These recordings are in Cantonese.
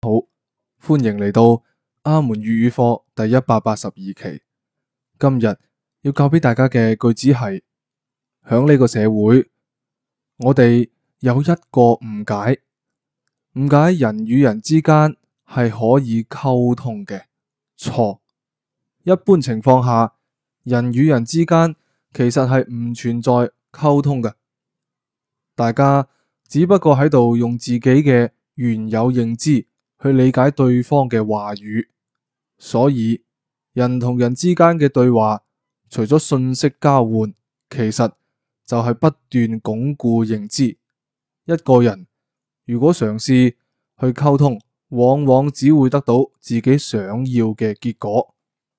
歡迎嚟到阿門粵語課第182期。今日要教俾大家嘅句子係：響呢個社會，我哋有一個誤解，誤解人與人之間係可以溝通嘅。錯。一般情況下，人與人之間其實係唔存在溝通嘅，大家只不過喺度用自己嘅原有認知去理解對方嘅話語，所以人同人之間嘅對話，除咗信息交換，其實就係不斷鞏固認知。一個人如果嘗試去溝通，往往只會得到自己想要嘅結果。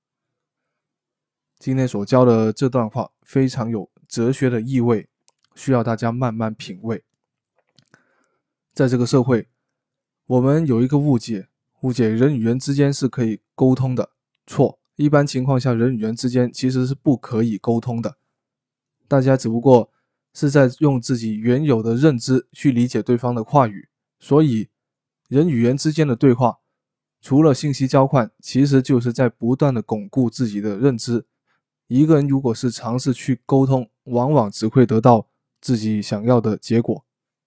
今天所教的這段話非常有哲學的意味，需要大家慢慢品味。在這個社會，我們有一個誤解人與人之間是可以溝通的。錯，一般情況下人與人之間其實是不可以溝通的，大家只不過是在用自己原有的認知去理解對方的話語，所以人與人之間的對話除了信息交換，其實就是在不斷的鞏固自己的認知。一個人如果是嘗試去溝通，往往只會得到自己想要的結果。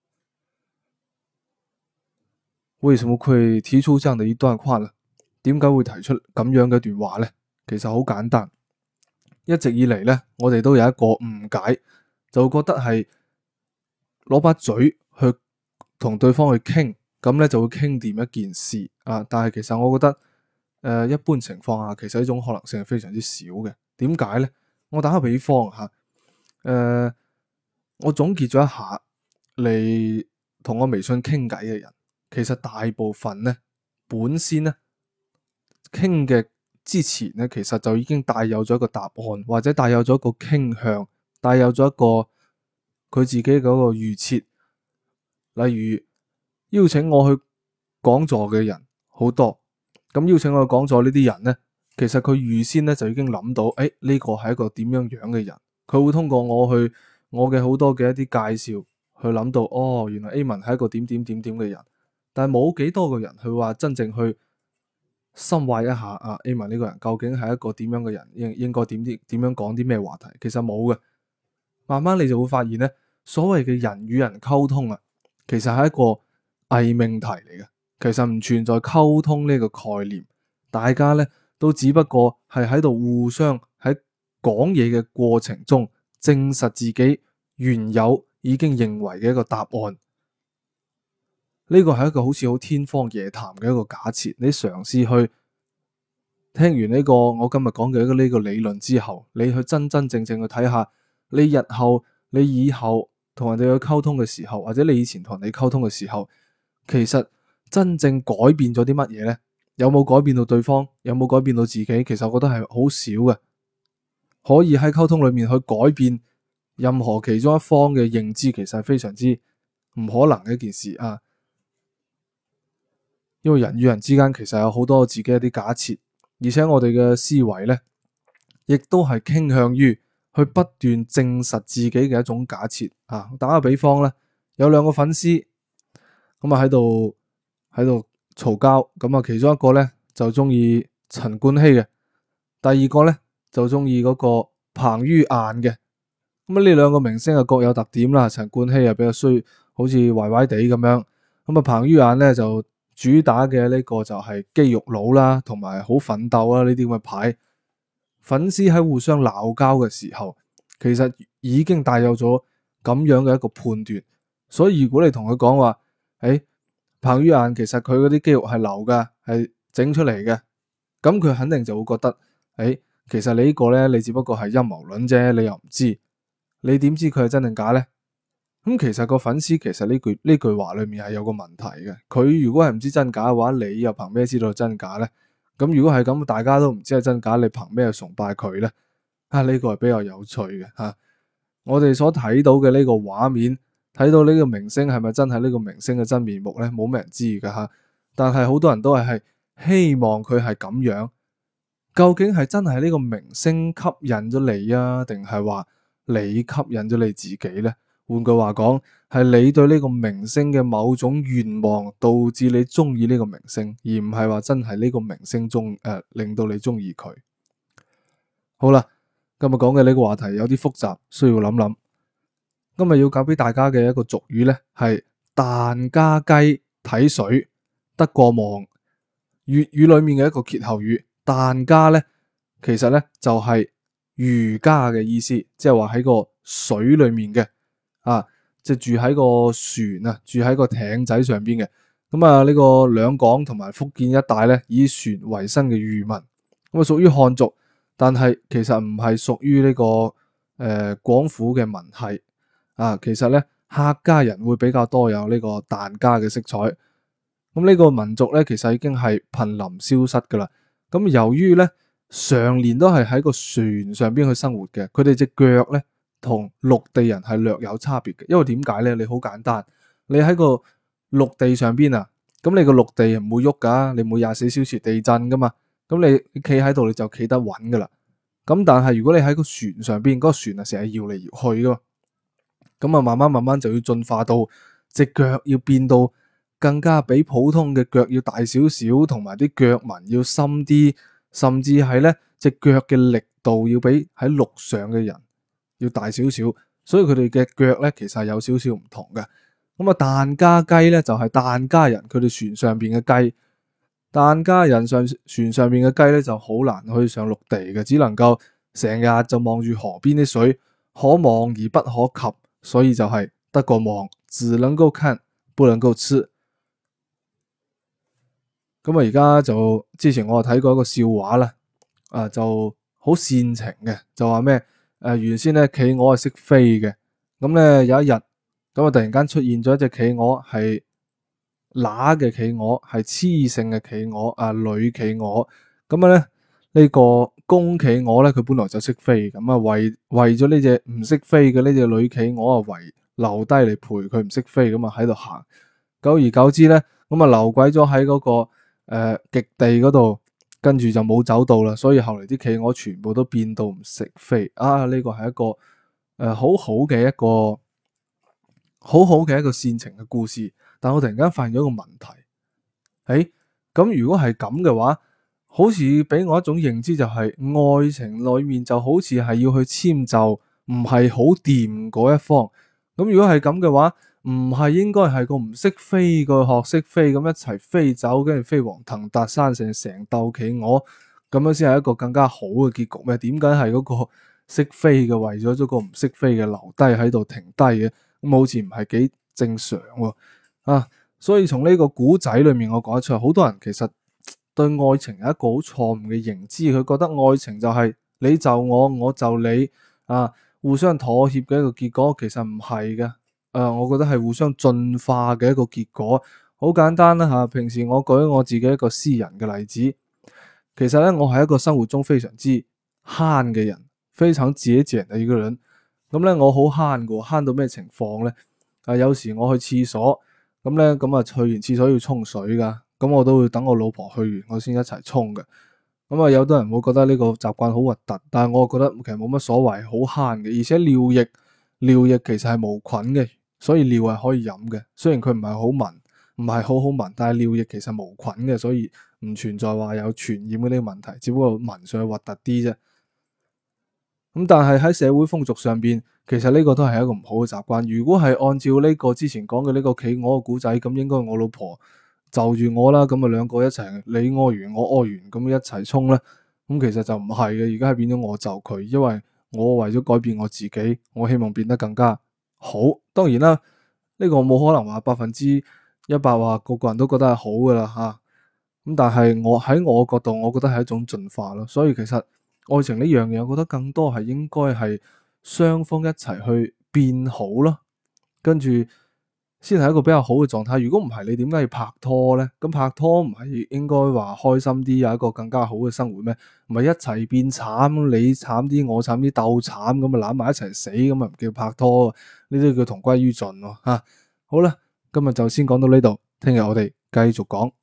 為什麼會提出這樣的一段話呢？點解會提出咁樣嘅一段話呢？其實好簡單，一直以嚟呢，我哋都有一個誤解，就覺得係攞把嘴去同對方去傾，咁呢就會傾掂一件事啊。但係其實我覺得，一般情況下，其實呢種可能性係非常之少嘅。點解呢？我打個比方吓，我總結咗一下，嚟同我微信傾偈嘅人，其實大部分呢，本先呢傾嘅之前呢，其實就已經帶有咗一個答案，或者帶有咗一個傾向，帶有咗一個佢自己嗰個預設。例如邀請我去講座嘅人好多，咁邀請我去講座呢啲人呢，其實佢預先咧就已經諗到，呢個係一個點樣樣嘅人，佢會通過我嘅好多嘅一啲介紹去諗到，原來 A 文係一個點點點點嘅人，但係冇幾多個人去話真正去深挖一下A 文呢個人究竟係一個點樣嘅人，應該點樣講啲咩話題，其實冇嘅。慢慢你就會發現咧，所謂嘅人與人溝通啊，其實係一個偽命題嚟嘅，其實唔存在溝通呢個概念，大家咧都只不過係喺度互相喺講嘢嘅過程中證實自己原有已經認為嘅一個答案。呢個係一個好似好天方夜譚嘅一個假設。你嘗試去聽完呢個我今日講嘅呢個理論之後，你去真真正正去睇下，你日後你以後同人哋去溝通嘅時候，或者你以前同人哋溝通嘅時候，其實真正改變咗啲乜嘢呢？有冇改變到對方？有冇改變到自己？其實我覺得係好少嘅。可以喺溝通裏面去改變任何其中一方嘅認知，其實係非常之唔可能嘅一件事啊。因為人與人之間其實有好多自己一啲假設，而且我哋嘅思維呢，亦都係傾向於去不斷證實自己嘅一種假設啊。打個比方呢，有兩個粉絲咁啊喺度嘈交，咁啊其中一個咧就中意陳冠希嘅，第二個咧就中意嗰個彭于晏嘅。咁啊呢兩個明星啊各有特點啦，陳冠希啊比較衰，好似壞壞地咁樣。咁啊彭于晏咧就主打嘅呢個就係肌肉佬啦，同埋好奮鬥啦呢啲咁嘅牌。粉絲喺互相鬧交嘅時候，其實已經帶有咗咁樣嘅一個判斷。所以如果你同佢講話，彭于晏其實佢嗰啲肌肉係流噶，係整出嚟嘅，咁佢肯定就會覺得，其實你呢個咧，你只不過係陰謀論啫，你又唔知，你點知佢係真定假咧？咁其實個粉絲其實呢句話裏面係有個問題嘅，佢如果係唔知真假嘅話，你又憑咩知道真假咧？咁如果係咁，大家都唔知係真假，你憑咩崇拜佢咧？呢個係比較有趣嘅吓。我哋所睇到嘅呢個畫面，睇到呢個明星係咪真係呢個明星嘅真面目咧？冇咩人知噶吓。但係好多人都係希望佢係咁樣。究竟係真係呢個明星吸引咗你啊，定係話你吸引咗你自己咧？ 換句話講，係你對呢個明星嘅某種願望導致你中意呢個明星，而唔係話真係呢個明星令到你中意佢。好啦，今日講嘅呢個話題有啲複雜，需要諗諗。今日要教俾大家嘅一個俗語呢，係蛋加雞睇水得過望。粵語裏面嘅一個歇後語，蛋加呢，其實呢就係瑜伽嘅意思，即係話喺個水裏面嘅即係住喺個船啊，住喺個艇仔上邊嘅。咁啊，呢個兩廣同埋福建一帶呢，以船為生嘅漁民，咁啊屬於漢族，但係其實唔係屬於呢個廣府嘅民系其實呢，客家人會比較多有呢個疍家嘅色彩。咁呢個民族呢，其實已經係瀕臨消失噶啦。咁由於呢，常年都係喺個船上邊去生活嘅，佢哋隻腳呢，同陸地人係略有差別嘅。因為點解呢？你好簡單，你喺個陸地上邊啊，咁你個陸地唔會喐噶，你每24小時地震噶嘛。咁你企喺度你就企得穩噶啦。咁但係如果你喺個船上邊，嗰個船啊成日搖嚟搖去噶嘛，咁啊慢慢就要進化到隻腳要變到更加比普通嘅腳要大少少，同埋啲腳紋要深啲，甚至係咧隻腳嘅力度要比喺陸上嘅人要大少少，所以佢哋嘅腳咧其實係有少少唔同嘅。咁啊，疍家雞咧就係疍家人佢哋船上邊嘅雞，疍家人船上邊嘅雞咧就好難去上陸地嘅，只能夠成日就望住河邊啲水，可望而不可及，所以就係得個望，只能夠看，不能夠吃。咁啊，而家就之前我睇過一個笑話啦，就好煽情嘅，就話咩？原先咧企鵝係識飛嘅，咁咧有一日，咁啊突然間出現咗一隻企鵝，係乸嘅企鵝，係雌性嘅企鵝，女企鵝。咁啊咧呢個公企鵝咧，佢本來就識飛，咁啊為咗呢隻唔識飛嘅呢隻女企鵝啊，留低嚟陪佢唔識飛，咁啊喺度行。久而久之咧，咁啊留鬼咗喺嗰個極地嗰度，跟住就冇走到啦，所以後嚟啲企鵝全部都變到唔識飛。呢個係一個好好嘅一個煽情嘅故事。但我突然間發現咗一個問題，咁如果係咁嘅話，好似俾我一種認知就係愛情裏面就好似係要去遷就唔係好掂嗰一方。咁如果係咁嘅話，唔係應該係個唔識飛個學識飛，咁一齊飛走，跟住飛黃騰達生成竇企鵝，咁樣先係一個更加好嘅結局咩？點解係嗰個識飛嘅為咗個唔識飛嘅留低喺度停低嘅？咁好似唔係幾正常喎。所以從呢個古仔裏面我講得出，好多人其實對愛情有一個好錯誤嘅認知，佢覺得愛情就係你就我，我就你，互相妥協嘅一個結果，其實唔係嘅。我覺得係互相進化嘅一個結果。好簡單啦吓，平時我舉我自己一個私人嘅例子，其實咧我係一個生活中非常之慳嘅人，非常節儉嘅一個人。咁咧我好慳嘅，慳到咩情況咧？有時我去廁所，咁咧去完廁所要沖水噶，咁我都會等我老婆去完，我先一齊沖嘅。咁有啲人會覺得呢個習慣好核突，但係我覺得其實冇乜所謂，好慳嘅。而且尿液其實係無菌嘅，所以尿係可以飲嘅。雖然佢唔係好聞，唔係好好聞，但係尿液其實無菌嘅，所以唔存在話有傳染嘅呢個問題，只不過聞上去核突啲啫。咁但係喺社會風俗上邊，其實呢個都係一個唔好嘅習慣。如果係按照呢個之前講嘅呢個企鵝嘅故仔，咁應該我老婆就住我啦，咁兩個一齊，你屙完我屙完，咁一齊沖啦。咁其實就唔係嘅，而家係變咗我就佢，因為我為咗改變我自己，我希望變得更加好。當然啦，呢個冇可能話100%話個個人都覺得係好噶啦吓。咁但係我喺我角度，我覺得係一種進化咯。所以其實愛情呢樣嘢，我覺得更多係應該係雙方一齊去變好咯，跟住先係一個比較好嘅狀態。如果唔係，你點解要拍拖咧？咁拍拖唔係應該話開心啲，有一個更加好嘅生活咩？唔係一齊變慘，你慘啲，我慘啲，鬥慘咁啊攬埋一齊死，咁啊唔叫拍拖，呢啲叫同歸於盡咯吓。好啦，今日就先講到呢度，聽日我哋繼續講。